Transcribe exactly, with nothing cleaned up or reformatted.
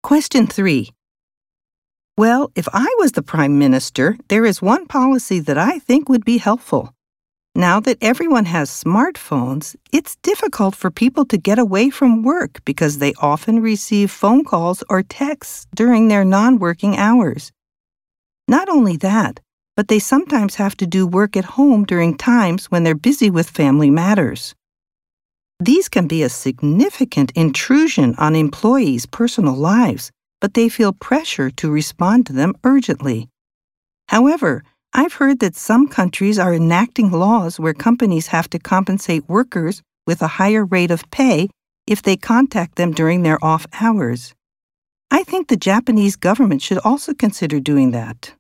Question three. Well, if I was the Prime Minister, there is one policy that I think would be helpful. Now that everyone has smartphones, it's difficult for people to get away from work because they often receive phone calls or texts during their non-working hours. Not only that, but they sometimes have to do work at home during times when they're busy with family matters. These can be a significant intrusion on employees' personal lives, but they feel pressure to respond to them urgently. However, I've heard that some countries are enacting laws where companies have to compensate workers with a higher rate of pay if they contact them during their off hours. I think the Japanese government should also consider doing that.